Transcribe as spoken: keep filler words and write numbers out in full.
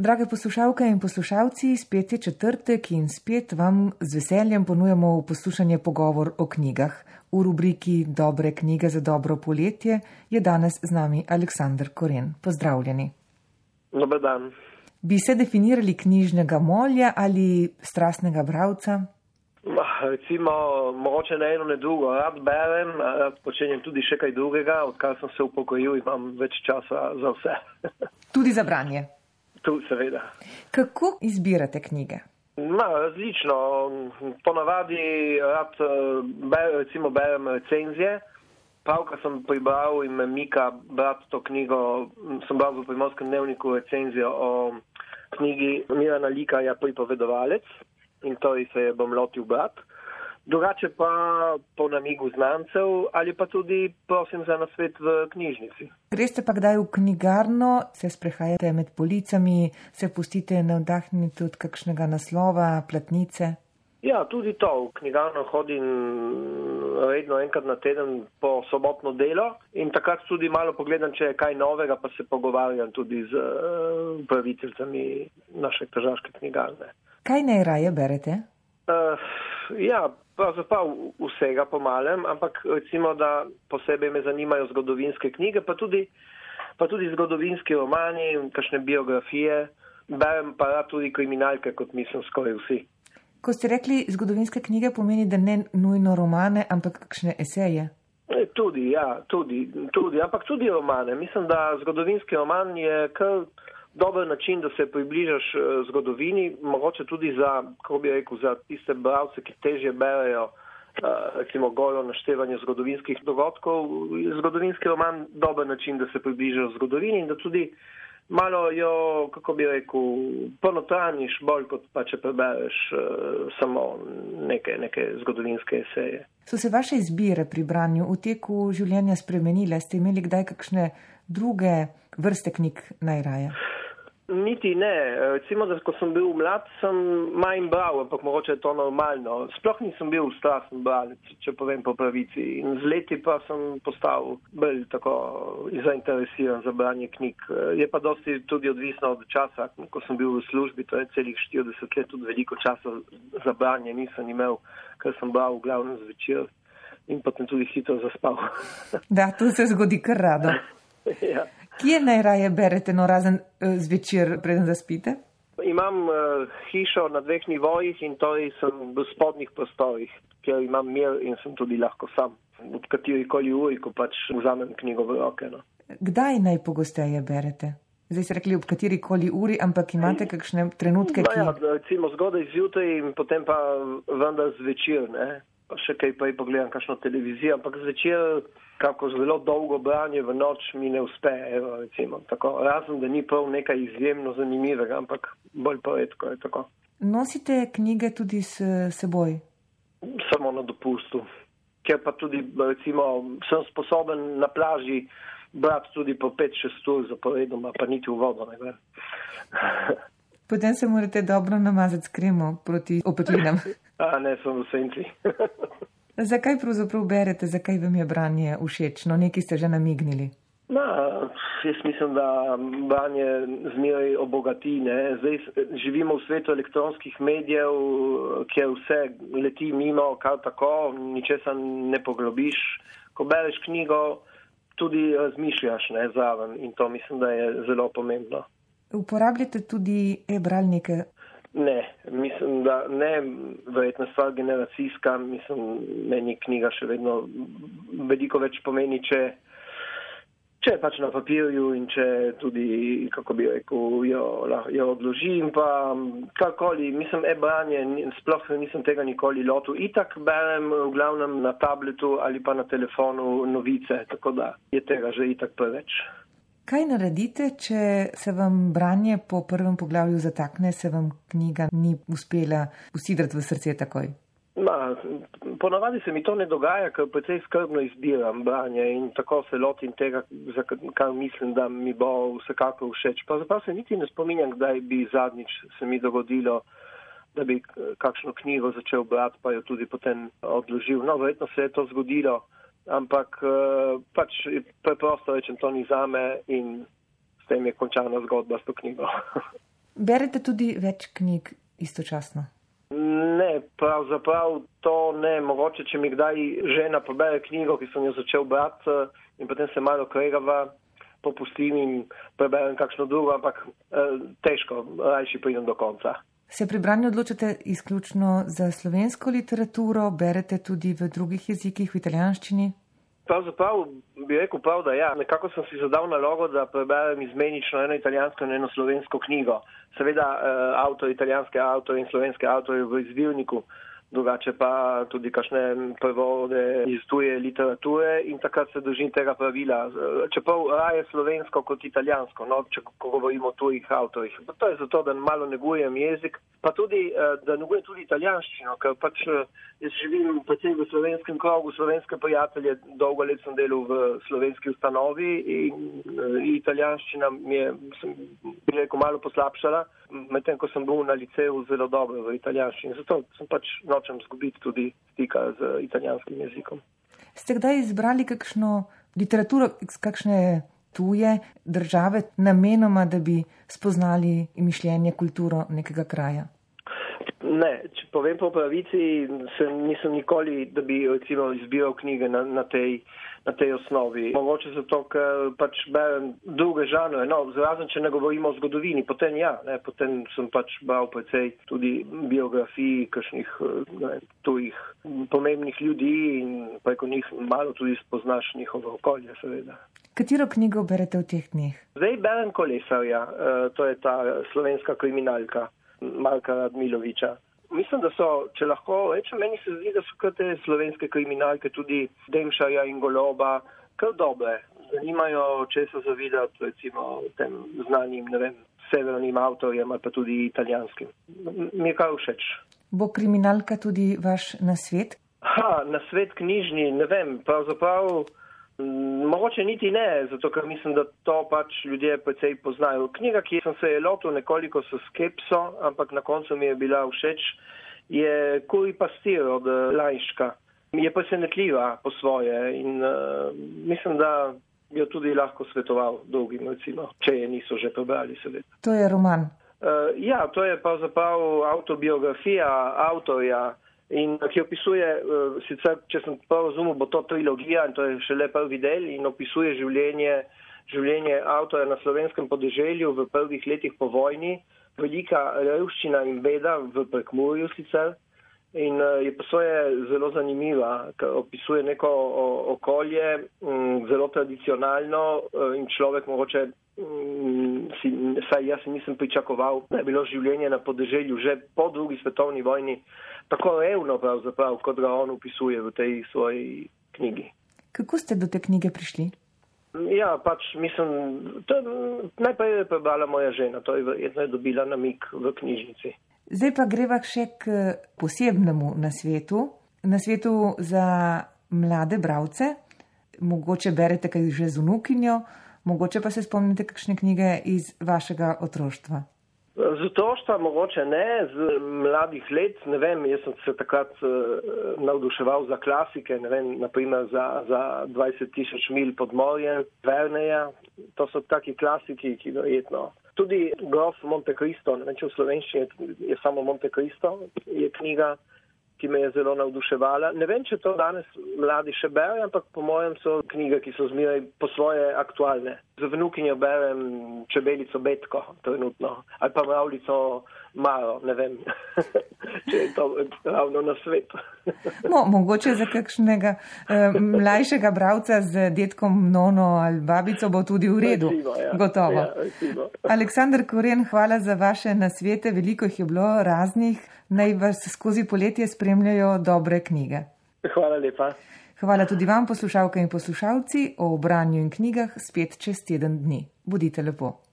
Drage poslušalke in poslušalci, spet je četrtek in spet vam z veseljem ponujamo v poslušanje pogovor o knjigah. V rubriki Dobre knjige za dobro poletje je danes z nami Aleksander Koren. Pozdravljeni. Dober dan. Bi se definirali knjižnega molja ali strastnega bralca? Recimo, mogoče ne eno, ne drugo. Rad berem, rad počenjem tudi še kaj drugega. Odkar sem se upokojil, imam več časa za vse. Tudi za branje? Tu, seveda. Kako izbirate knjige? Ma, različno. Ponavadi rad ber, recimo berem recenzije. Pravkar sem pribral in me mika brati to knjigo. Sem bral v Primorskem dnevniku recenzijo o knjigi Mirana Likarja Pripovedovalec in to se je bom lotil brati. Drugače pa po namigu znancev ali pa tudi prosim za nasvet v knjižnici. Greste pa kdaj v knjigarno, se sprehajate med policami, se pustite navdahniti od kakšnega naslova, platnice? Ja, tudi to. V knjigarno hodim redno enkrat na teden po sobotno delo in takrat tudi malo pogledam, če je kaj novega, pa se pogovarjam tudi z upraviteljicami naše tržaške knjigarne. Kaj najraje berete? Uh, ja, pravzaprav vsega po malem, ampak recimo, da posebej me zanimajo zgodovinske knjige, pa tudi, pa tudi zgodovinski romani, kakšne biografije. Berem pa rad tudi kriminalke, kot mislim skoraj vsi. Ko ste rekli zgodovinske knjige, pomeni, da ne nujno romane, ampak kakšne eseje? Tudi, ja, tudi, tudi, ampak tudi romane. Mislim, da zgodovinski roman je kar dober način, da se približaš zgodovini, mogoče tudi za, kako bi rekel, za tiste bralce, ki težje berejo, recimo golo naštevanje zgodovinskih dogodkov. Zgodovinski roman dober način, da se približaš zgodovini in da tudi malo jo, kako bi rekel, ponotraniš bolj, kot pa če prebereš uh, samo neke, neke zgodovinske eseje. So se vaše izbire pri branju v teku življenja spremenile? Ste imeli kdaj kakšne druge vrste knjig najraje? Niti ne. Recimo, da ko sem bil mlad, sem manj bral, ampak mogoče je to normalno. Sploh nisem bil strasten bralec, če povem po pravici. In z leti pa sem postal bolj tako zainteresiran za branje knjig. Je pa dosti tudi odvisno od časa. Ko sem bil v službi, to je celih štirideset let, tudi veliko časa za branje nisem imel, ker sem bral v glavnem zvečer in potem tudi hitro zaspal. Da, to se zgodi kar rado. Ja. Kje najraje berete, no razen zvečer, preden zaspite? Imam uh, hišo na dveh nivojih in to sem v spodnjih prostorih, kjer imam mir in sem tudi lahko sam. Od katerikoli uri, ko pač vzamem knjigo v roke. No. Kdaj najpogosteje berete? Zdaj ste rekli ob katerikoli uri, ampak imate kakšne trenutke, ki... No ja, recimo zgodaj zjutraj in potem pa vendar zvečer, ne. Pa še kaj pa pogledam kakšno televizijo, ampak zvečer kako zelo dolgo branje v noč mi ne uspe, evo, recimo, tako. Razen, da ni prav nekaj izjemno zanimivega, ampak bolj poredko je tako. Nosite knjige tudi s seboj? Samo na dopustu. Ker pa tudi, recimo, sem sposoben na plaži brati tudi po pet šest ur zaporedoma, pa niti v vodo ne gre. Potem se morate dobro namazati s kremo proti opeklinam. A ne, sem v senci. Zakaj pravzaprav berete, zakaj vam je branje všeč? No, nekaj ste že namignili. Na, jaz mislim, da branje zmeraj obogati, ne. Zdaj živimo v svetu elektronskih medijev, kjer vse leti mimo, kar tako, ničesar ne poglobiš. Ko bereš knjigo, tudi razmišljaš, ne, zraven in to mislim, da je zelo pomembno. Uporabljate tudi e-bralnike? Ne, mislim, da ne, verjetno stvar generacijska, mislim, meni knjiga še vedno veliko več pomeni, če, če pač na papirju in če tudi, kako bi rekel, jo, jo odložim, pa karkoli, mislim, e-branje, sploh nisem tega nikoli lotil. Itak berem v glavnem na tabletu ali pa na telefonu novice, tako da je tega že itak preveč. Kaj naredite, če se vam branje po prvem poglavju zatakne, se vam knjiga ni uspela usidrati v srce takoj? Ma, ponavadi se mi to ne dogaja, ker precej skrbno izbiram branje in tako se lotim tega, za kar mislim, da mi bo vsekako všeč. Pa zaprav se niti ne spominjam, kdaj bi zadnjič se mi dogodilo, da bi kakšno knjigo začel brati, pa jo tudi potem odložil. No, verjetno se je to zgodilo. Ampak pač preprosto rečem, to ni zame in s tem je končana zgodba s to knjigo. Berete tudi več knjig istočasno? Ne, pravzaprav to ne. Mogoče, če mi kdaj žena pobere knjigo, ki sem jo začel brati in potem se malo kregava, popustim in preberem kakšno drugo, ampak eh, težko, rajši pridem do konca. Se pri branju odločate izključno za slovensko literaturo, berete tudi v drugih jezikih, v italijanščini? Pravzaprav bi rekel prav, da ja. Nekako sem si zadal nalogo, da preberem izmenično eno italijansko in eno slovensko knjigo. Seveda eh, avtor, italijanske avtorje in slovenske avtorje v izvirniku, drugače pa tudi kakšne prevode iz tuje literature in takrat se držim tega pravila. Čeprav raje slovensko kot italijansko, no, če ko govorimo o tujih avtorjih. To je zato, da malo negujem jezik, pa tudi, da negujem tudi italijanščino, ker pač jaz živim predvsem v slovenskem krogu, slovenske prijatelje, dolgo let sem delal v slovenski ustanovi in italijanščina mi je, sem bi rekel, malo poslabšala, medtem ko sem bil na liceju zelo dobro v italijanščini. Zato sem pač nočem zgubiti tudi stika z italijanskim jezikom. Ste kdaj izbrali kakšno literaturo iz kakšne tuje države namenoma, da bi spoznali mišljenje, kulturo nekega kraja? Ne, če povem po pravici, sem, nisem nikoli, da bi recimo izbiral knjige na, na, tej, na tej osnovi. Mogoče zato, ker pač berem druge žanre, no, zrazen, če ne govorimo o zgodovini, potem ja, ne, potem sem pač bral precej tudi biografij kakšnih tujih pomembnih ljudi in preko njih malo tudi spoznaš njihovo okolje, seveda. Katero knjigo berete v teh dneh? Zdaj berem Kolesarja, to je ta slovenska kriminalka Marka Radmiloviča. Mislim, da so, če lahko rečem, meni se zdi, da so kar te slovenske kriminalke, tudi Demšarja in Goloba, kar dobre. Zanimajo, če so zavidati, recimo, tem znanim, ne vem, severnim avtorjem ali pa tudi italijanskim. Mi je kar všeč. Bo kriminalka tudi vaš nasvet? Ha, nasvet knjižni, ne vem, pravzaprav mogoče niti ne, zato ker mislim, da to pač ljudje precej poznajo. Knjiga, ki sem se je lotil nekoliko s skepso, ampak na koncu mi je bila všeč, je Kuri pastir od Lajška. Je presenetljiva po svoje in uh, mislim, da jo tudi lahko svetoval drugim, recimo, če je niso že prebrali, seveda. To je roman? Uh, ja, to je pravzaprav autobiografija avtorja, in ki opisuje, sicer, če sem prav razumel, bo to trilogija in to je šele prvi del in opisuje življenje, življenje avtorja na slovenskem podeželju v prvih letih po vojni, velika revščina in beda v Prekmurju sicer in je pa svoje zelo zanimiva, ker opisuje neko okolje, zelo tradicionalno in človek mogoče, si, saj jaz nisem pričakoval, da je bilo življenje na podeželju že po drugi svetovni vojni tako revno pravzaprav, kot ga on opisuje v tej svoji knjigi. Kako ste do te knjige prišli? Ja, pač mislim, to najprej je prebrala moja žena, to je verjetno dobila namig v knjižnici. Zdaj pa greva še k posebnemu nasvetu, nasvetu za mlade bralce. Mogoče berete kaj že z vnukinjo, mogoče pa se spomnite kakšne knjige iz vašega otroštva. Z otroštva mogoče ne, z mladih let, ne vem, jaz sem se takrat uh, navduševal za klasike, ne vem, naprimer za, za dvajset tisoč milj pod morjem, Verneja, to so taki klasiki, ki verjetno. Tudi Grof Monte Cristo, ne vem, če v slovenščini je samo Monte Cristo, je knjiga, ki me je zelo navduševala. Ne vem, če to danes mladi še berajo, ampak po mojem so knjige, ki so zmeraj po svoje aktualne. Z vnukinjo berem Čebelico Betko trenutno, ali pa Mravljico Maro, ne vem, če je to ravno na svetu. Mo, mogoče za kakšnega eh, mlajšega bralca z detkom Nono ali babico bo tudi v redu, recimo, ja. Gotovo. Ja, Aleksander Koren, hvala za vaše nasvete, veliko jih je bilo raznih, naj vas skozi poletje spremljajo dobre knjige. Hvala lepa. Hvala tudi vam, poslušalke in poslušalci, o branju in knjigah spet čez teden dni. Bodite lepo.